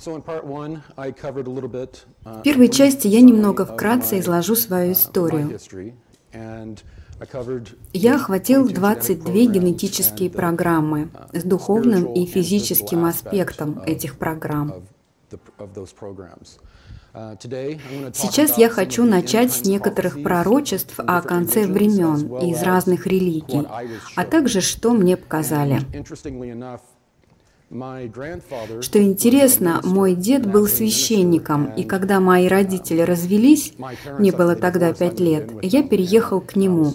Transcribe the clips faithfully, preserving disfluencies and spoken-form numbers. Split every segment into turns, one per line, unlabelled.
В первой части я немного вкратце изложу свою историю. Я охватил двадцать две генетические программы с духовным и физическим аспектом этих программ. Сейчас я хочу начать с некоторых пророчеств о конце времен из разных религий, а также что мне показали. Что интересно, мой дед был священником, и когда мои родители развелись, мне было тогда пять лет, я переехал к нему.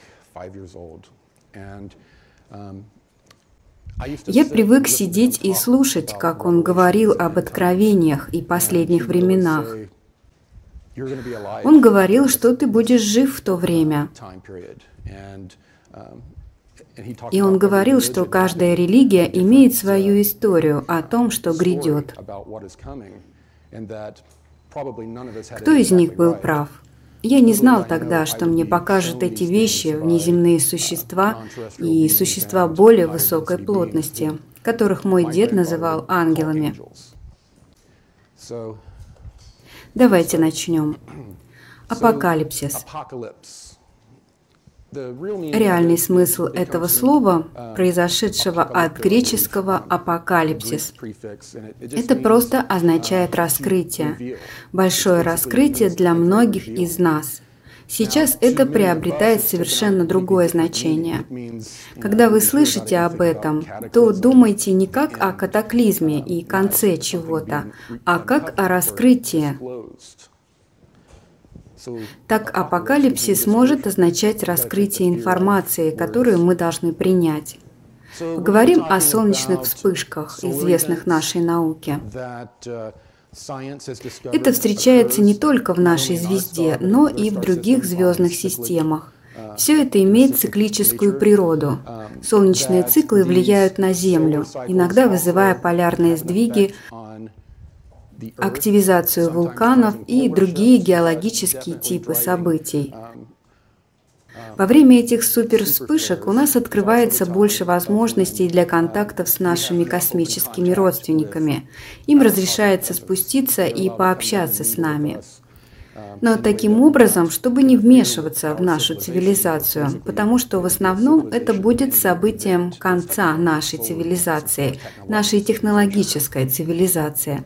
Я привык сидеть и слушать, как он говорил об откровениях и последних временах. Он говорил, что ты будешь жив в то время. И он говорил, что каждая религия имеет свою историю о том, что грядет. Кто из них был прав? Я не знал тогда, что мне покажут эти вещи внеземные существа и существа более высокой плотности, которых мой дед называл ангелами. Давайте начнем. Апокалипсис. Реальный смысл этого слова, произошедшего от греческого «апокалипсис», это просто означает «раскрытие», большое раскрытие для многих из нас. Сейчас это приобретает совершенно другое значение. Когда вы слышите об этом, то думайте не как о катаклизме и конце чего-то, а как о раскрытии. Так апокалипсис может означать раскрытие информации, которую мы должны принять. Говорим о солнечных вспышках, известных нашей науке. Это встречается не только в нашей звезде, но и в других звездных системах. Все это имеет циклическую природу. Солнечные циклы влияют на Землю, иногда вызывая полярные сдвиги, активизацию вулканов и другие геологические типы событий. Во время этих супервспышек у нас открывается больше возможностей для контактов с нашими космическими родственниками. Им разрешается спуститься и пообщаться с нами. Но таким образом, чтобы не вмешиваться в нашу цивилизацию, потому что в основном это будет событием конца нашей цивилизации, нашей технологической цивилизации.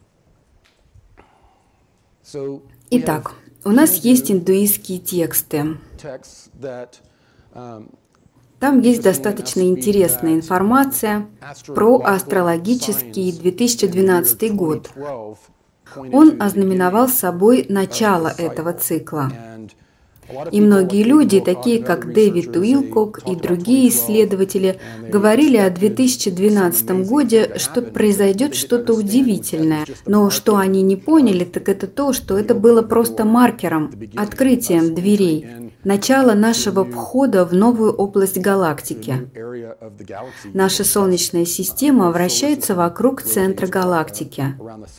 Итак, у нас есть индуистские тексты. Там есть достаточно интересная информация про астрологический две тысячи двенадцатый год. Он ознаменовал собой начало этого цикла. И многие люди, такие как Дэвид Уилкок и другие исследователи, говорили о две тысячи двенадцатом году, что произойдет что-то удивительное. Но что они не поняли, так это то, что это было просто маркером, открытием дверей, начало нашего входа в новую область галактики. Наша Солнечная система вращается вокруг центра галактики.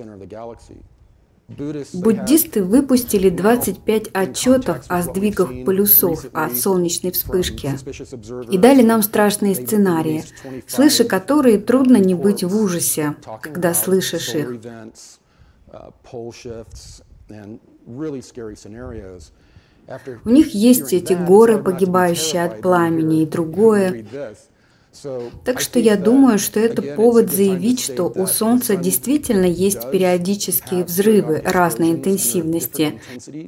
Буддисты выпустили двадцать пять отчетов о сдвигах полюсов от солнечной вспышки и дали нам страшные сценарии, слыша которые трудно не быть в ужасе, когда слышишь их. У них есть эти горы, погибающие от пламени, и другое. Так что я думаю, что это повод заявить, что у Солнца действительно есть периодические взрывы разной интенсивности,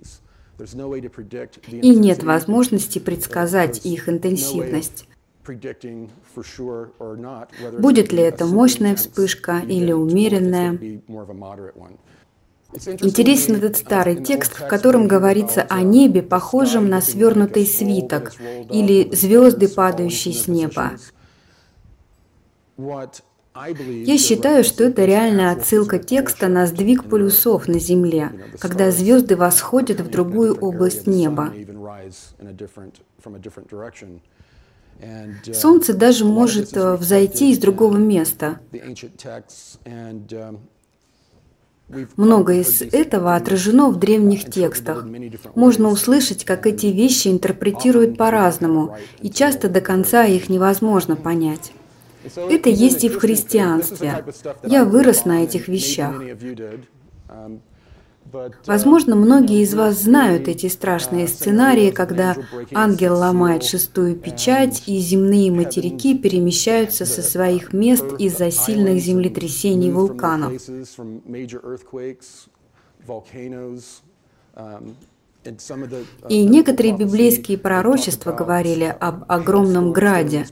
и нет возможности предсказать их интенсивность. Будет ли это мощная вспышка или умеренная? Интересен этот старый текст, в котором говорится о небе, похожем на свернутый свиток, или звезды, падающие с неба. Я считаю, что это реальная отсылка текста на сдвиг полюсов на Земле, когда звезды восходят в другую область неба. Солнце даже может взойти из другого места. Многое из этого отражено в древних текстах. Можно услышать, как эти вещи интерпретируют по-разному, и часто до конца их невозможно понять. Это есть и в христианстве. Я вырос на этих вещах. Возможно, многие из вас знают эти страшные сценарии, когда ангел ломает шестую печать, и земные материки перемещаются со своих мест из-за сильных землетрясений вулканов. И некоторые библейские пророчества говорили об огромном граде.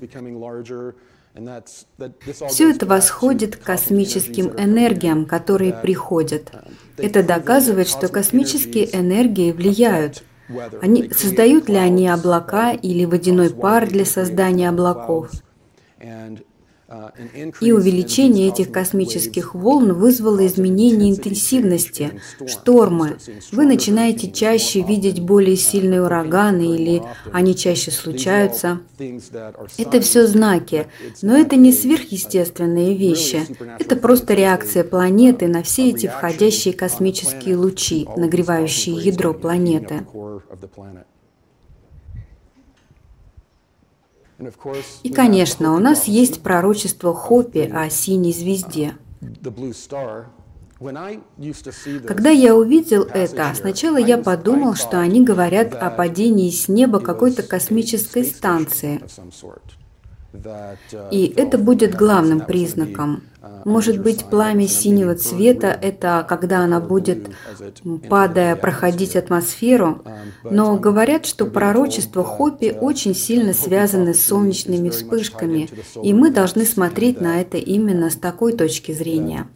Все это восходит к космическим энергиям, которые приходят. Это доказывает, что космические энергии влияют. Они, создают ли они облака или водяной пар для создания облаков? И увеличение этих космических волн вызвало изменение интенсивности, штормы. Вы начинаете чаще видеть более сильные ураганы или они чаще случаются. Это все знаки, но это не сверхъестественные вещи. Это просто реакция планеты на все эти входящие космические лучи, нагревающие ядро планеты. И, конечно, у нас есть пророчество Хопи о синей звезде. Когда я увидел это, сначала я подумал, что они говорят о падении с неба какой-то космической станции. И это будет главным признаком. Может быть, пламя синего цвета – это когда она будет, падая, проходить атмосферу, но говорят, что пророчества Хопи очень сильно связаны с солнечными вспышками, и мы должны смотреть на это именно с такой точки зрения.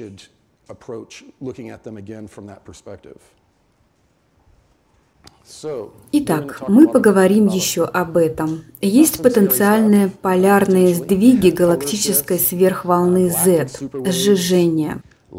Итак, мы поговорим еще об этом. Есть потенциальные полярные сдвиги галактической сверхволны Z, сжижение.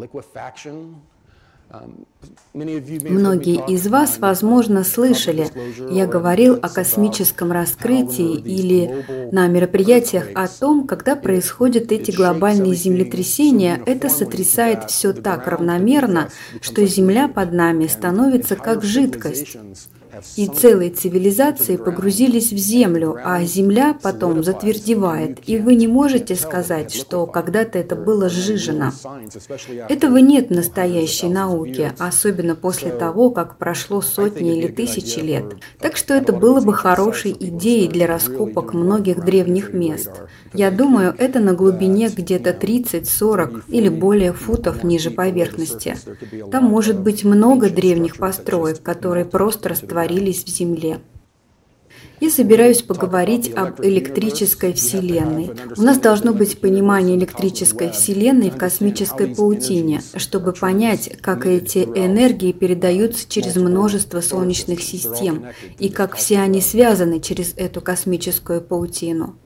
Многие из вас, возможно, слышали, я говорил о космическом раскрытии или на мероприятиях о том, когда происходят эти глобальные землетрясения, это сотрясает все так равномерно, что Земля под нами становится как жидкость. И целые цивилизации погрузились в землю, а земля потом затвердевает, и вы не можете сказать, что когда-то это было сжижено. Этого нет в настоящей науке, особенно после того, как прошло сотни или тысячи лет. Так что это было бы хорошей идеей для раскопок многих древних мест. Я думаю, это на глубине где-то тридцать-сорок или более футов ниже поверхности. Там может быть много древних построек, которые просто растворились в земле. Я собираюсь поговорить об электрической Вселенной. У нас должно быть понимание электрической Вселенной в космической паутине, чтобы понять, как эти энергии передаются через множество солнечных систем и как все они связаны через эту космическую паутину.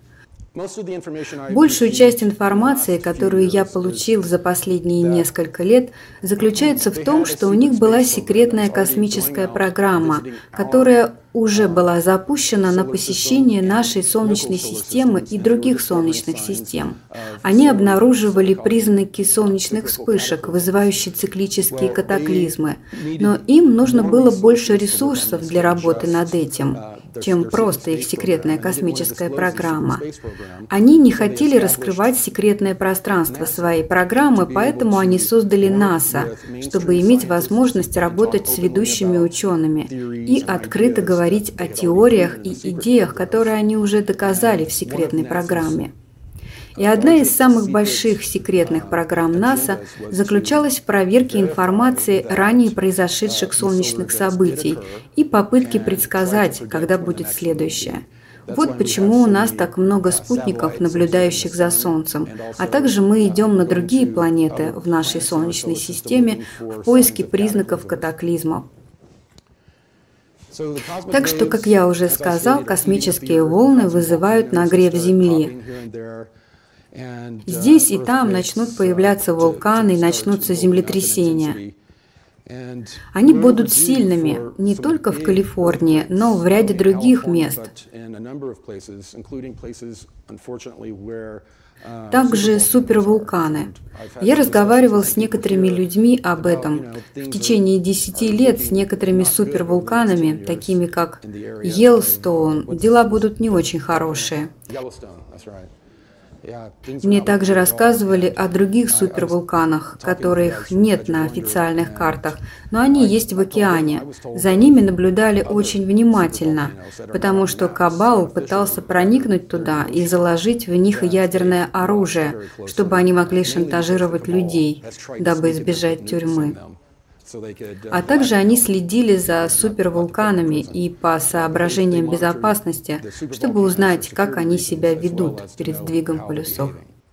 Большую часть информации, которую я получил за последние несколько лет, заключается в том, что у них была секретная космическая программа, которая уже была запущена на посещение нашей Солнечной системы и других солнечных систем. Они обнаруживали признаки солнечных вспышек, вызывающие циклические катаклизмы, но им нужно было больше ресурсов для работы над этим, чем просто их секретная космическая программа. Они не хотели раскрывать секретное пространство своей программы, поэтому они создали НАСА, чтобы иметь возможность работать с ведущими учеными и открыто говорить о теориях и идеях, которые они уже доказали в секретной программе. И одна из самых больших секретных программ НАСА заключалась в проверке информации ранее произошедших солнечных событий и попытке предсказать, когда будет следующее. Вот почему у нас так много спутников, наблюдающих за Солнцем, а также мы идем на другие планеты в нашей Солнечной системе в поиске признаков катаклизмов. Так что, как я уже сказал, космические волны вызывают нагрев Земли. Здесь и там начнут появляться вулканы и начнутся землетрясения. Они будут сильными не только в Калифорнии, но в ряде других мест. Также супервулканы. Я разговаривал с некоторыми людьми об этом. В течение десяти лет с некоторыми супервулканами, такими как Йеллоустоун, дела будут не очень хорошие. Мне также рассказывали о других супервулканах, которых нет на официальных картах, но они есть в океане. За ними наблюдали очень внимательно, потому что Кабал пытался проникнуть туда и заложить в них ядерное оружие, чтобы они могли шантажировать людей, дабы избежать тюрьмы. А также они следили за супервулканами и по соображениям безопасности, чтобы узнать, как они себя ведут перед сдвигом полюсов.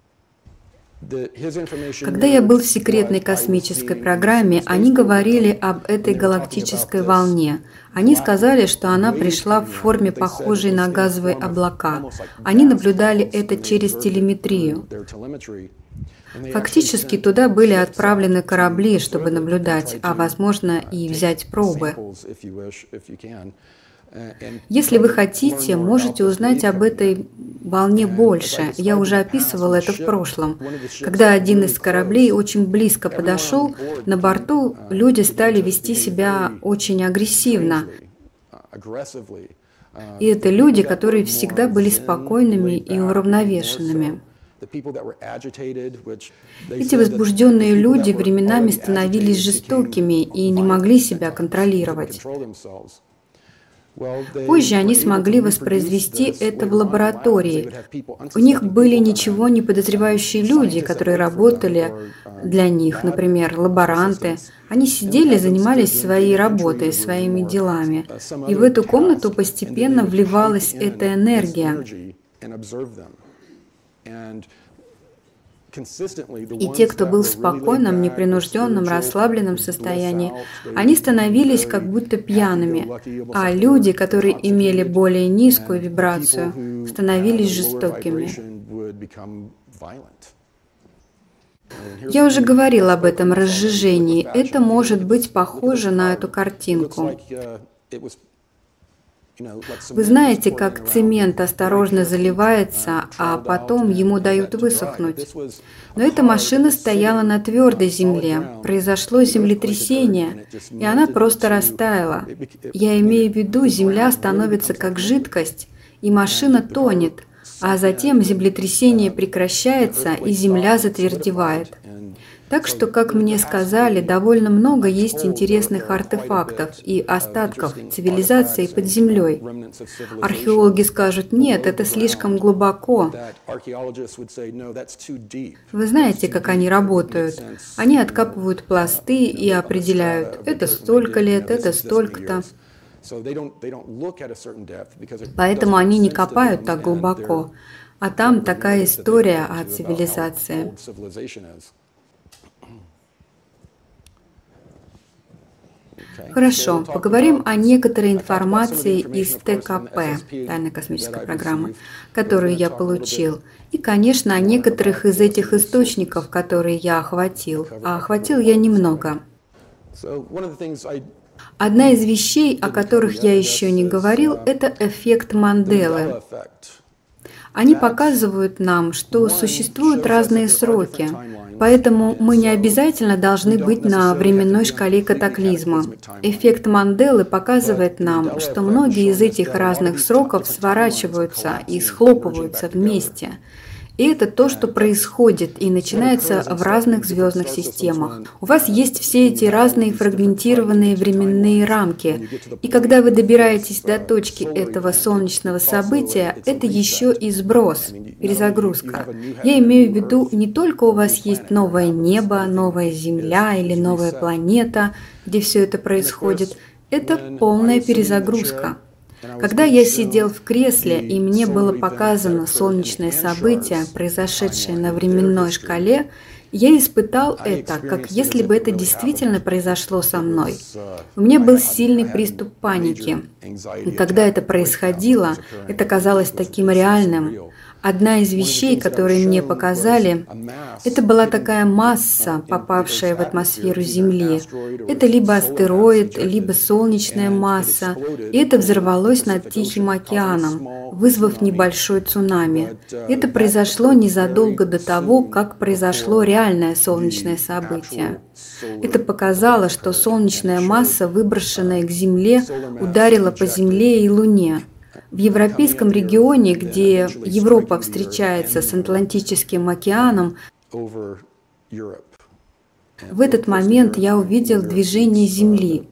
Когда я был в секретной космической программе, они говорили об этой галактической волне. Они сказали, что она пришла в форме, похожей на газовые облака. Они наблюдали это через телеметрию. Фактически туда были отправлены корабли, чтобы наблюдать, а возможно и взять пробы. Если вы хотите, можете узнать об этой волне больше. Я уже описывал это в прошлом. Когда один из кораблей очень близко подошел, на борту люди стали вести себя очень агрессивно. И это люди, которые всегда были спокойными и уравновешенными. Эти возбужденные люди временами становились жестокими и не могли себя контролировать. Позже они смогли воспроизвести это в лаборатории. У них были ничего не подозревающие люди, которые работали для них, например, лаборанты. Они сидели, занимались своей работой, своими делами. И в эту комнату постепенно вливалась эта энергия. И те, кто был в спокойном, непринужденном, расслабленном состоянии, они становились как будто пьяными, а люди, которые имели более низкую вибрацию, становились жестокими. Я уже говорил об этом разжижении. Это может быть похоже на эту картинку. Вы знаете, как цемент осторожно заливается, а потом ему дают высохнуть. Но эта машина стояла на твердой земле, произошло землетрясение, и она просто растаяла. Я имею в виду, земля становится как жидкость, и машина тонет, а затем землетрясение прекращается, и земля затвердевает. Так что, как мне сказали, довольно много есть интересных артефактов и остатков цивилизации под землей. Археологи скажут, нет, это слишком глубоко. Вы знаете, как они работают? Они откапывают пласты и определяют, это столько лет, это столько-то. Поэтому они не копают так глубоко. А там такая история о цивилизации. Хорошо, поговорим о некоторой информации из Т К П, тайной космической программы, которую я получил, и, конечно, о некоторых из этих источников, которые я охватил. А охватил я немного. Одна из вещей, о которых я еще не говорил, это эффект Манделы. Они показывают нам, что существуют разные сроки, поэтому мы не обязательно должны быть на временной шкале катаклизма. Эффект Манделы показывает нам, что многие из этих разных сроков сворачиваются и схлопываются вместе. И это то, что происходит и начинается в разных звездных системах. У вас есть все эти разные фрагментированные временные рамки. И когда вы добираетесь до точки этого солнечного события, это еще и сброс, перезагрузка. Я имею в виду, не только у вас есть новое небо, новая Земля или новая планета, где все это происходит, это полная перезагрузка. Когда я сидел в кресле, и мне было показано солнечное событие, произошедшее на временной шкале, я испытал это, как если бы это действительно произошло со мной. У меня был сильный приступ паники. И когда это происходило, это казалось таким реальным. Одна из вещей, которые мне показали, это была такая масса, попавшая в атмосферу Земли. Это либо астероид, либо солнечная масса, и это взорвалось над Тихим океаном, вызвав небольшой цунами. Это произошло незадолго до того, как произошло реальное солнечное событие. Это показало, что солнечная масса, выброшенная к Земле, ударила по Земле и Луне. В европейском регионе, где Европа встречается с Атлантическим океаном, в этот момент я увидел движение Земли.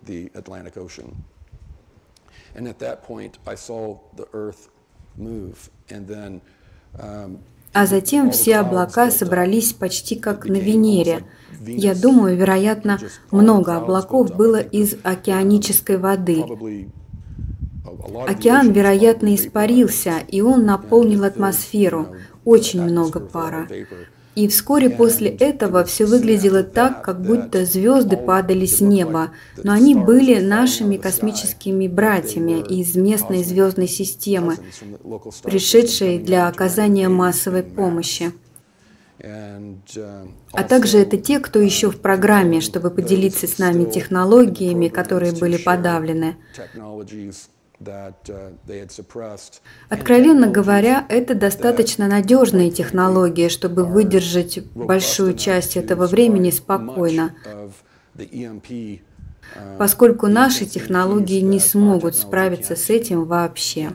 А затем все облака собрались почти как на Венере. Я думаю, вероятно, много облаков было из океанической воды. Океан, вероятно, испарился, и он наполнил атмосферу. Очень много пара. И вскоре после этого все выглядело так, как будто звезды падали с неба, но они были нашими космическими братьями из местной звездной системы, пришедшей для оказания массовой помощи. А также это те, кто еще в программе, чтобы поделиться с нами технологиями, которые были подавлены. Откровенно говоря, это достаточно надежные технологии, чтобы выдержать большую часть этого времени спокойно, поскольку наши технологии не смогут справиться с этим вообще.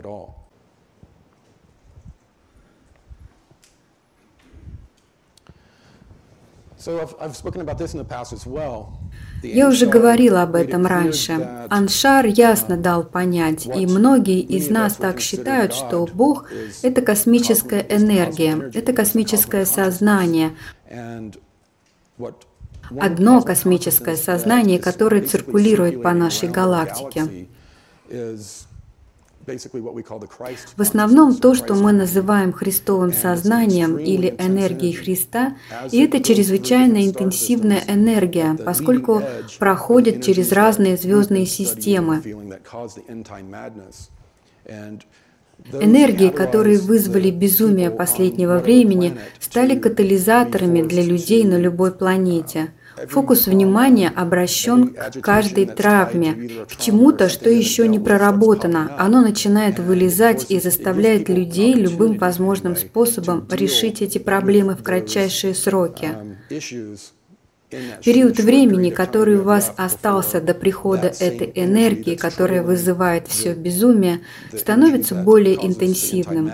Я уже говорила об этом раньше. Аншар ясно дал понять, и многие из нас так считают, что Бог – это космическая энергия, это космическое сознание, одно космическое сознание, которое циркулирует по нашей галактике. В основном то, что мы называем Христовым сознанием или энергией Христа, и это чрезвычайно интенсивная энергия, поскольку проходит через разные звездные системы. Энергии, которые вызвали безумие последнего времени, стали катализаторами для людей на любой планете. Фокус внимания обращен к каждой травме, к чему-то, что еще не проработано. Оно начинает вылезать и заставляет людей любым возможным способом решить эти проблемы в кратчайшие сроки. Период времени, который у вас остался до прихода этой энергии, которая вызывает все безумие, становится более интенсивным.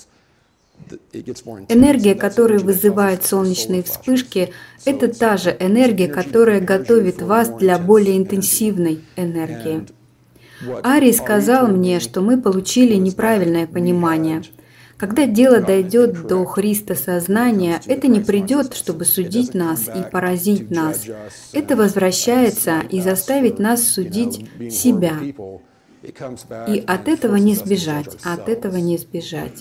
Энергия, которая вызывает солнечные вспышки, это та же энергия, которая готовит вас для более интенсивной энергии. Арий сказал мне, что мы получили неправильное понимание. Когда дело дойдет до Христа сознания, это не придет, чтобы судить нас и поразить нас. Это возвращается и заставит нас судить себя. И от этого не сбежать, от этого не сбежать.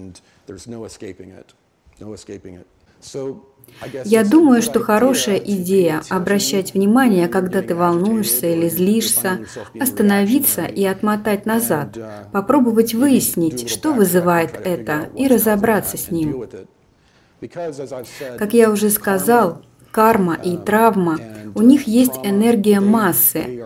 Я думаю, что хорошая идея обращать внимание, когда ты волнуешься или злишься, остановиться и отмотать назад, попробовать выяснить, что вызывает это, и разобраться с ним. Как я уже сказал, карма и травма, у них есть энергия массы.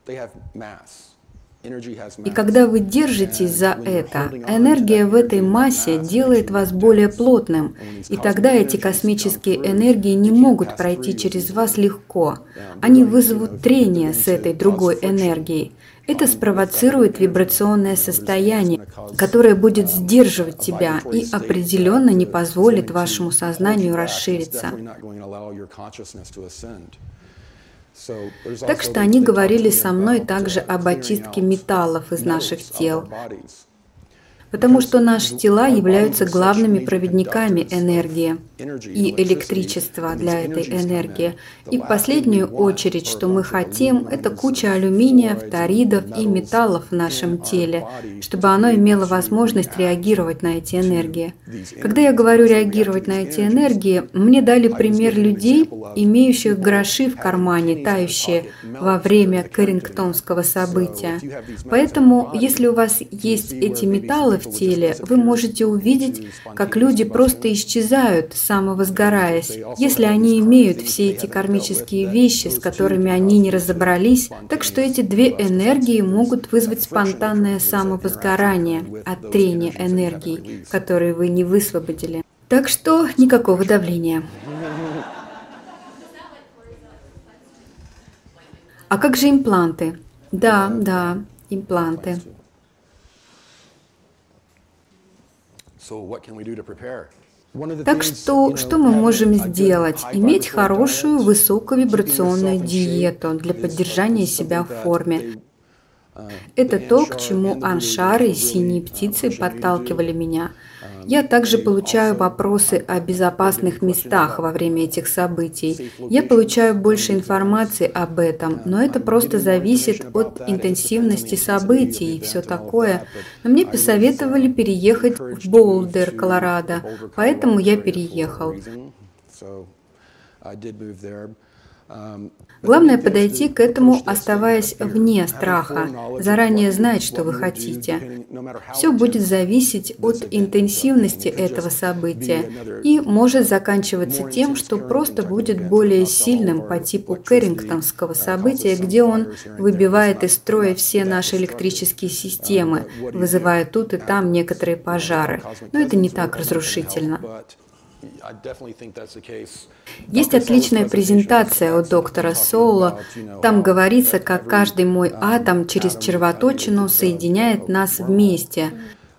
И когда вы держитесь за это, энергия в этой массе делает вас более плотным, и тогда эти космические энергии не могут пройти через вас легко. Они вызовут трение с этой другой энергией. Это спровоцирует вибрационное состояние, которое будет сдерживать тебя и определенно не позволит вашему сознанию расшириться. Так что они говорили со мной также об очистке металлов из наших тел, потому что наши тела являются главными проводниками энергии и электричества для этой энергии. И в последнюю очередь, что мы хотим, это куча алюминия, фторидов и металлов в нашем теле, чтобы оно имело возможность реагировать на эти энергии. Когда я говорю реагировать на эти энергии, мне дали пример людей, имеющих гроши в кармане, тающие во время Каррингтонского события. Поэтому, если у вас есть эти металлы в теле, вы можете увидеть, как люди просто исчезают, самовозгораясь. Если они имеют все эти кармические вещи, с которыми они не разобрались, так что эти две энергии могут вызвать спонтанное самовозгорание от трения энергий, которые вы не высвободили. Так что никакого давления. А как же импланты? Да, да, импланты. Так что, что мы можем сделать? Иметь хорошую высоковибрационную диету для поддержания себя в форме. Это то, к чему Аншар и синие птицы подталкивали меня. Я также получаю вопросы о безопасных местах во время этих событий. Я получаю больше информации об этом, но это просто зависит от интенсивности событий и все такое. Но мне посоветовали переехать в Болдер, Колорадо, поэтому я переехал. Главное подойти к этому, оставаясь вне страха, заранее знать, что вы хотите. Все будет зависеть от интенсивности этого события и может заканчиваться тем, что просто будет более сильным по типу Кэррингтонского события, где он выбивает из строя все наши электрические системы, вызывая тут и там некоторые пожары. Но это не так разрушительно. Есть отличная презентация у доктора Соула. Там говорится, как каждый мой атом через червоточину соединяет нас вместе.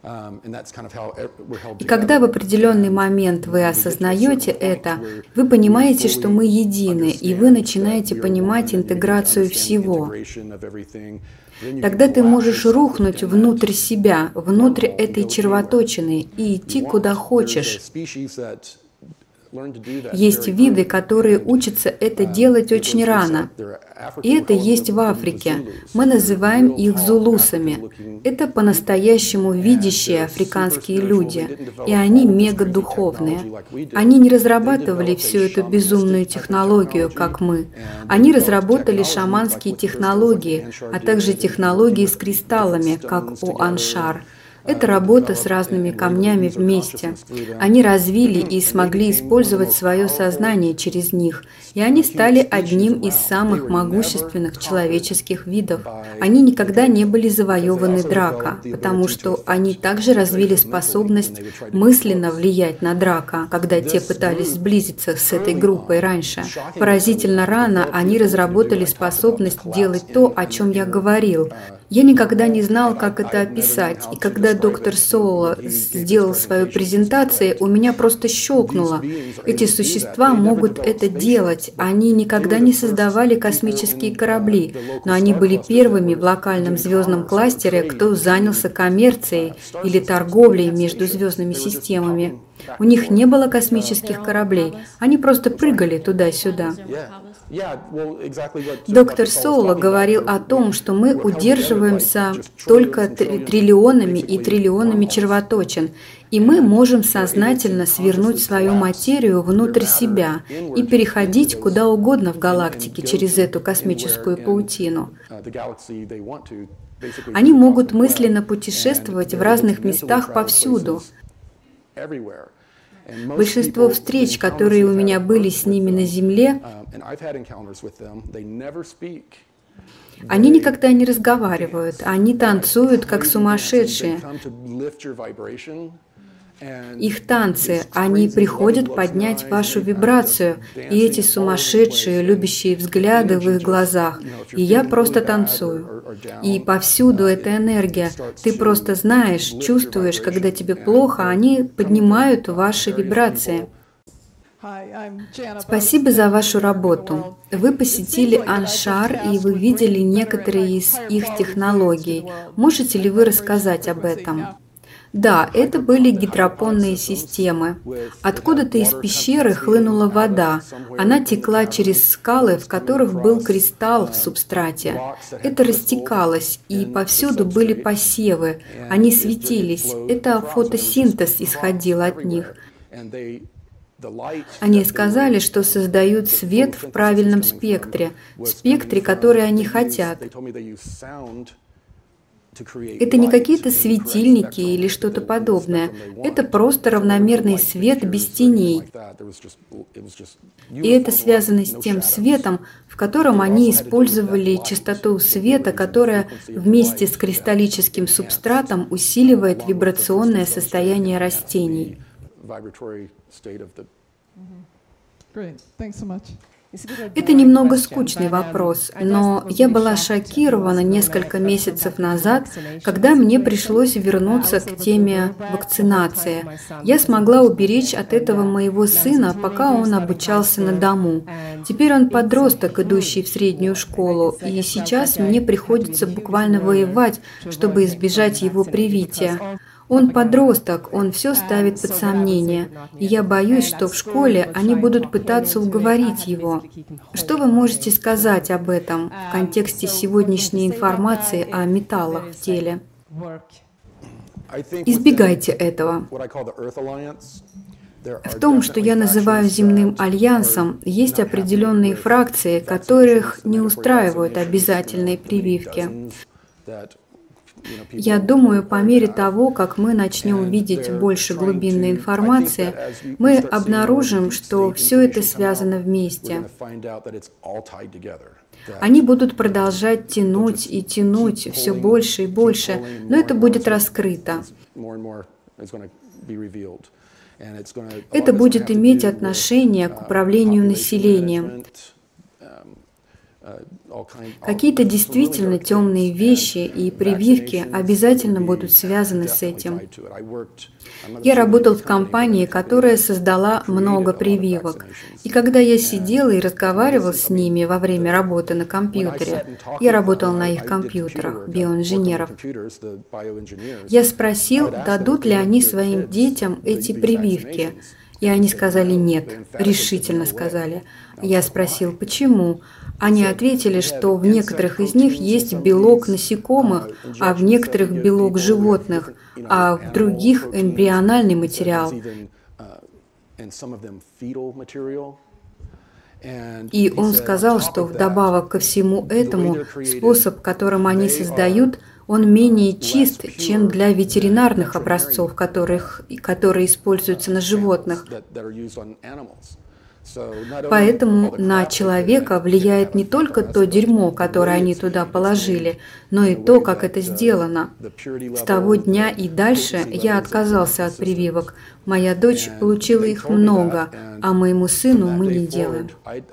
И когда в определенный момент вы осознаете это, вы понимаете, что мы едины, и вы начинаете понимать интеграцию всего. Тогда ты можешь рухнуть внутрь себя, внутрь этой червоточины и идти куда хочешь. Есть виды, которые учатся это делать очень рано. И это есть в Африке. Мы называем их зулусами. Это по-настоящему видящие африканские люди. И они мегадуховные. Они не разрабатывали всю эту безумную технологию, как мы. Они разработали шаманские технологии, а также технологии с кристаллами, как у Аншар. Это работа с разными камнями вместе. Они развили и смогли использовать свое сознание через них, и они стали одним из самых могущественных человеческих видов. Они никогда не были завоеваны Драко, потому что они также развили способность мысленно влиять на Драко, когда те пытались сблизиться с этой группой раньше. Поразительно рано они разработали способность делать то, о чем я говорил. Я никогда не знал, как это описать, и когда доктор Соула сделал свою презентацию, у меня просто щелкнуло. Эти существа могут это делать. Они никогда не создавали космические корабли, но они были первыми в локальном звездном кластере, кто занялся коммерцией или торговлей между звездными системами. У них не было космических кораблей, они просто прыгали туда-сюда. Доктор Соула говорил о том, что мы удерживаемся только триллионами и триллионами червоточин, и мы можем сознательно свернуть свою материю внутрь себя и переходить куда угодно в галактике через эту космическую паутину. Они могут мысленно путешествовать в разных местах повсюду. Большинство встреч, которые у меня были с ними на Земле, они никогда не разговаривают, они танцуют как сумасшедшие. Их танцы, они приходят поднять вашу вибрацию, и эти сумасшедшие, любящие взгляды в их глазах, и я просто танцую. И повсюду эта энергия, ты просто знаешь, чувствуешь, когда тебе плохо, они поднимают ваши вибрации. Спасибо за вашу работу. Вы посетили Аншар, и вы видели некоторые из их технологий. Можете ли вы рассказать об этом? Да, это были гидропонные системы. Откуда-то из пещеры хлынула вода. Она текла через скалы, в которых был кристалл в субстрате. Это растекалось, и повсюду были посевы. Они светились. Это фотосинтез исходил от них. Они сказали, что создают свет в правильном спектре, в спектре, который они хотят. Это не какие-то светильники или что-то подобное. Это просто равномерный свет без теней. И это связано с тем светом, в котором они использовали частоту света, которая вместе с кристаллическим субстратом усиливает вибрационное состояние растений. Это немного скучный вопрос, но я была шокирована несколько месяцев назад, когда мне пришлось вернуться к теме вакцинации. Я смогла уберечь от этого моего сына, пока он обучался на дому. Теперь он подросток, идущий в среднюю школу, и сейчас мне приходится буквально воевать, чтобы избежать его привития. Он подросток, он все ставит под сомнение, и я боюсь, что в школе они будут пытаться уговорить его. Что вы можете сказать об этом в контексте сегодняшней информации о металлах в теле? Избегайте этого. В том, что я называю земным альянсом, есть определенные фракции, которых не устраивают обязательные прививки. Я думаю, по мере того, как мы начнем видеть больше глубинной информации, мы обнаружим, что все это связано вместе. Они будут продолжать тянуть и тянуть все больше и больше, но это будет раскрыто. Это будет иметь отношение к управлению населением. Какие-то действительно темные вещи и прививки обязательно будут связаны с этим. Я работал в компании, которая создала много прививок. И когда я сидел и разговаривал с ними во время работы на компьютере, я работал на их компьютерах, биоинженеров, я спросил, дадут ли они своим детям эти прививки. И они сказали нет, решительно сказали. Я спросил, почему? Они ответили, что в некоторых из них есть белок насекомых, а в некоторых белок животных, а в других эмбриональный материал. И он сказал, что вдобавок ко всему этому, способ, которым они создают, он менее чист, чем для ветеринарных образцов, которых, которые используются на животных. Поэтому на человека влияет не только то дерьмо, которое они туда положили, но и то, как это сделано. С того дня и дальше я отказался от прививок. Моя дочь получила их много, а моему сыну мы не делаем.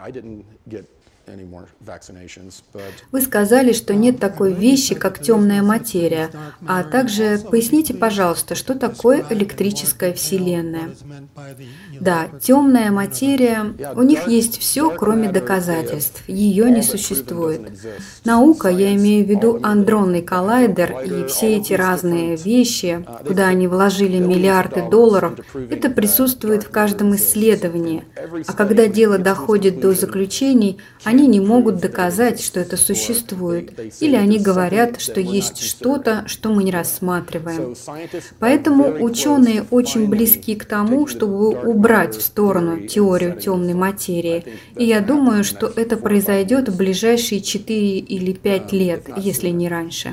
Вы сказали, что нет такой вещи, как темная материя, а также поясните, пожалуйста, что такое электрическая вселенная. Да, темная материя, у них есть все, кроме доказательств, ее не существует. Наука, я имею в виду андронный коллайдер и все эти разные вещи, куда они вложили миллиарды долларов, это присутствует в каждом исследовании. А когда дело доходит до заключений, они не могут доказать, что это существует, или они говорят, что есть что-то, что мы не рассматриваем. Поэтому ученые очень близки к тому, чтобы убрать в сторону теорию темной материи, и я думаю, что это произойдет в ближайшие четыре или пять лет, если не раньше.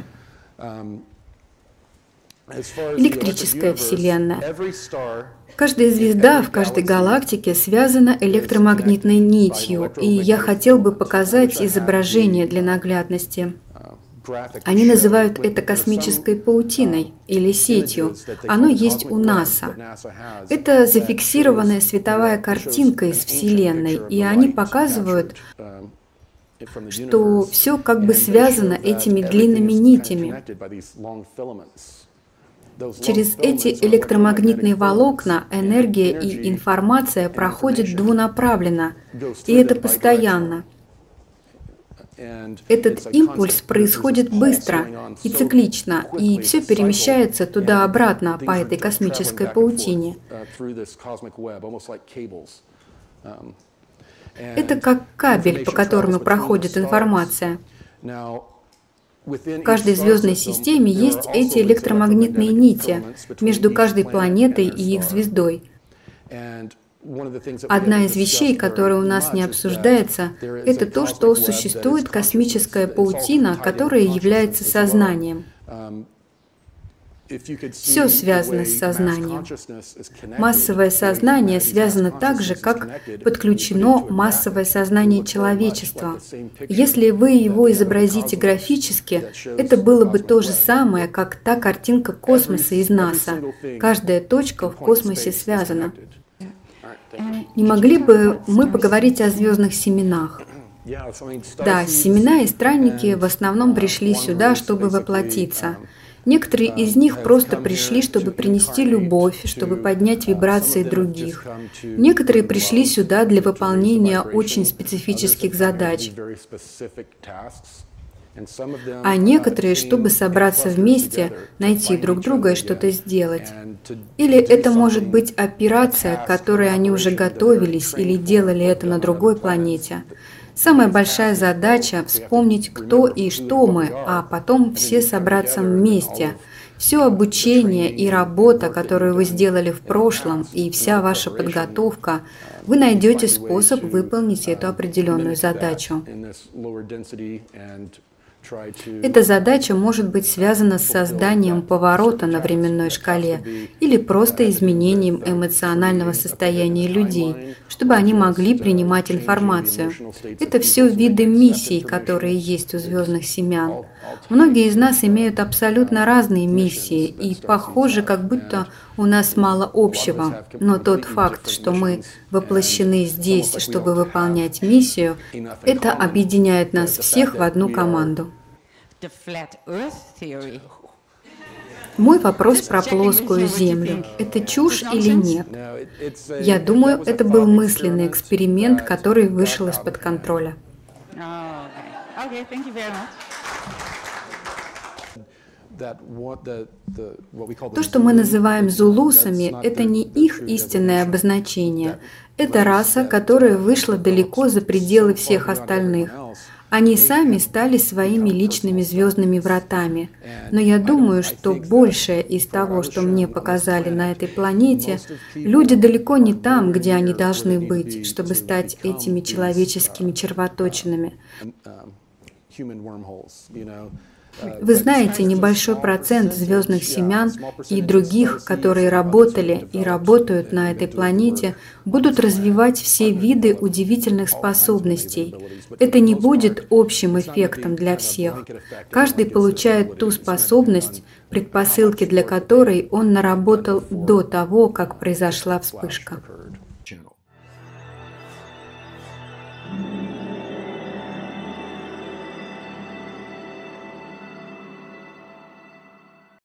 Электрическая вселенная. Каждая звезда в каждой галактике связана электромагнитной нитью, и я хотел бы показать изображение для наглядности. Они называют это космической паутиной или сетью. Оно есть у НАСА. Это зафиксированная световая картинка из Вселенной, и они показывают, что все как бы связано этими длинными нитями. Через эти электромагнитные волокна энергия и информация проходят двунаправленно, и это постоянно. Этот импульс происходит быстро и циклично, и все перемещается туда-обратно по этой космической паутине. Это как кабель, по которому проходит информация. В каждой звездной системе есть эти электромагнитные нити между каждой планетой и их звездой. Одна из вещей, которая у нас не обсуждается, это то, что существует космическая паутина, которая является сознанием. Все связано с сознанием. Массовое сознание связано так же, как подключено массовое сознание человечества. Если вы его изобразите графически, это было бы то же самое, как та картинка космоса из НАСА. Каждая точка в космосе связана. Не могли бы мы поговорить о звездных семенах? Да, семена и странники в основном пришли сюда, чтобы воплотиться. Некоторые из них просто пришли, чтобы принести любовь, чтобы поднять вибрации других. Некоторые пришли сюда для выполнения очень специфических задач. А некоторые, чтобы собраться вместе, найти друг друга и что-то сделать. Или это может быть операция, к которой они уже готовились или делали это на другой планете. Самая большая задача – вспомнить, кто и что мы, а потом все собраться вместе. Все обучение и работа, которую вы сделали в прошлом, и вся ваша подготовка, вы найдете способ выполнить эту определенную задачу. Эта задача может быть связана с созданием поворота на временной шкале или просто изменением эмоционального состояния людей, чтобы они могли принимать информацию. Это все виды миссий, которые есть у звездных семян. Многие из нас имеют абсолютно разные миссии, и похоже, как будто у нас мало общего. Но тот факт, что мы воплощены здесь, чтобы выполнять миссию, это объединяет нас всех в одну команду. Мой вопрос про плоскую Землю. Это чушь или нет? Я думаю, это был мысленный эксперимент, который вышел из-под контроля. То, что мы называем зулусами, это не их истинное обозначение. Это раса, которая вышла далеко за пределы всех остальных. Они сами стали своими личными звездными вратами. Но я думаю, что большее из того, что мне показали на этой планете, люди далеко не там, где они должны быть, чтобы стать этими человеческими червоточинами. Вы знаете, небольшой процент звездных семян и других, которые работали и работают на этой планете, будут развивать все виды удивительных способностей. Это не будет общим эффектом для всех. Каждый получает ту способность, предпосылки для которой он наработал до того, как произошла вспышка.